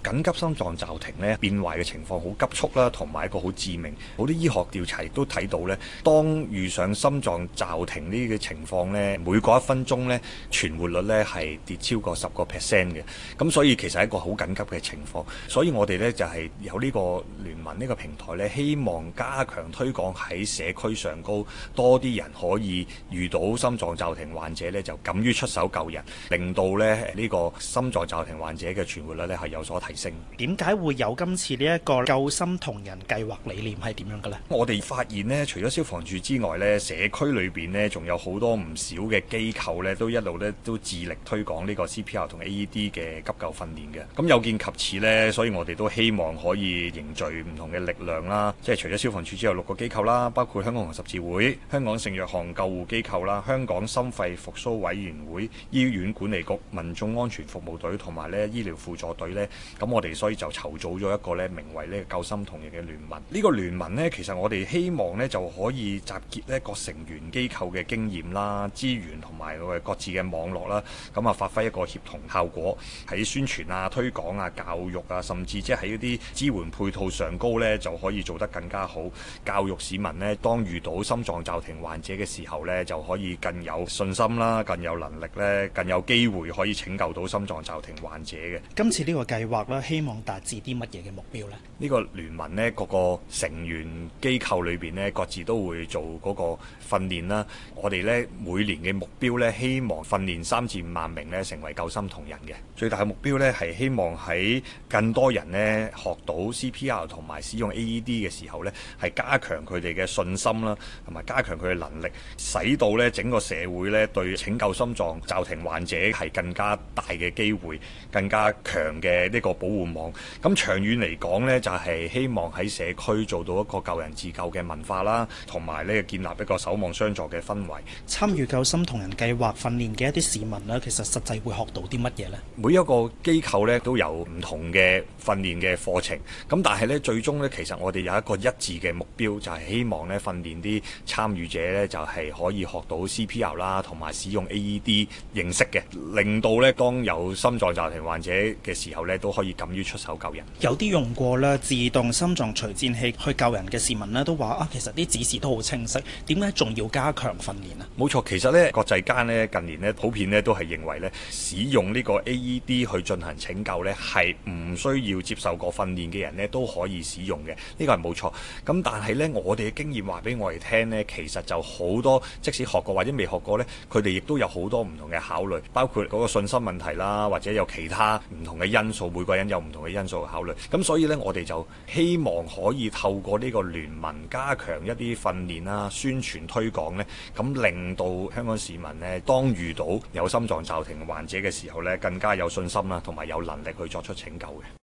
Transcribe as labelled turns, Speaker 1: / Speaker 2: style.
Speaker 1: 緊急心臟驟停咧變壞嘅情況好急速啦，同埋一個好致命。好啲醫學調查亦都睇到咧，當遇上心臟驟停呢個情況咧，每過1分鐘咧存活率咧係跌超過10%嘅。咁所以其實係一個好緊急嘅情況。所以我哋咧就係有呢個聯盟呢個平台咧，希望加強推廣喺社區上高，多啲人可以遇到心臟驟停患者咧就敢於出手救人，令到咧呢個心臟驟停患者嘅存活率咧係有所提升。
Speaker 2: 點解會有今次呢一個救心同人計劃理念係點樣嘅咧？
Speaker 1: 我哋發現咧，除咗消防處之外咧，社區裏邊咧仲有好多唔少嘅機構咧，都一路咧都致力推廣呢個 CPR 同 AED 嘅急救訓練嘅。咁有見及此咧，所以我哋都希望可以凝聚唔同嘅力量啦，即係除咗消防處之外6個機構啦，包括香港紅十字會、香港聖約翰救護機構啦、香港心肺復甦委員會、醫院管理局、民眾安全服務隊同埋咧醫療輔助隊咧，咁我哋所以就籌組咗一個咧名為呢個救心同人嘅聯盟。呢個聯盟咧，其實我哋希望咧就可以集結咧各成員機構嘅經驗啦、資源同埋我哋各自嘅網絡啦，咁啊發揮一個協同效果，喺宣傳啊、推廣啊、教育啊，甚至即係喺一啲支援配套上高咧，就可以做得更加好。教育市民咧，當遇到心臟驟停患者嘅時候咧，就可以更有信心啦、更有能力咧、更有機會可以拯救到心臟驟停患者嘅。
Speaker 2: 今次呢個計劃咧，希望達至啲乜嘢嘅目標呢？
Speaker 1: 呢個聯盟呢，各個成員機構裏邊呢，各自都會做嗰個訓練啦。我哋呢，每年嘅目標呢，希望訓練3至5萬名呢，成為救心同人嘅。最大嘅目標呢，係希望喺更多人呢，學到 CPR 同埋使用 AED 嘅時候呢，係加強佢哋嘅信心啦，同埋加強佢嘅能力，使到呢整個社會呢，對拯救心臟驟停患者係更加大嘅機會，更加強嘅呢個保護網。咁長遠嚟講呢，就係希望喺社區做到一個救人自救嘅文化啦，同埋呢建立一個守望相助嘅氛圍。
Speaker 2: 參與救心同人計劃訓練嘅一啲市民呢，其實實際會學到啲乜嘢呢？
Speaker 1: 每一個機構呢都有唔同嘅訓練嘅課程，咁但係呢，最終呢，其實我哋有一個一致嘅目標，就係希望呢訓練啲參與者呢，就係可以學到 CPR 啦，同埋使用 AED 認識嘅，令到呢當有心臟驟停患者嘅時候呢，都可以敢於出手救人。
Speaker 2: 有啲用過咧自動心臟除顫器去救人嘅市民呢，都話啊，其實啲指示都好清晰，點解仲要加強訓練啊？
Speaker 1: 冇錯，其實呢國際間呢近年呢普遍呢都係認為呢使用呢個 AED 去進行拯救呢係唔需要接受過訓練嘅人呢都可以使用嘅，呢個係冇錯。咁但係呢，我哋嘅經驗話俾我哋聽呢，其實就好多即使學過或者未學過呢，佢哋亦都有好多唔同嘅考慮，包括嗰個信心問題啦，或者有其他唔同嘅因素，每個人有唔同嘅因素去考慮。咁所以呢，我哋就希望可以透過呢個聯盟加強一啲訓練啦、宣傳推廣呢，咁令到香港市民呢，當遇到有心臟驟停患者嘅時候呢，更加有信心啦，同埋有能力去作出拯救嘅。